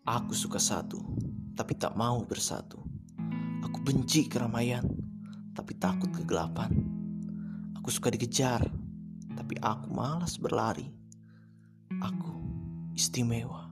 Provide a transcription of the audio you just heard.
Aku suka satu, tapi tak mau bersatu. Aku benci keramaian, tapi takut kegelapan. Aku suka dikejar, tapi aku malas berlari. Aku istimewa.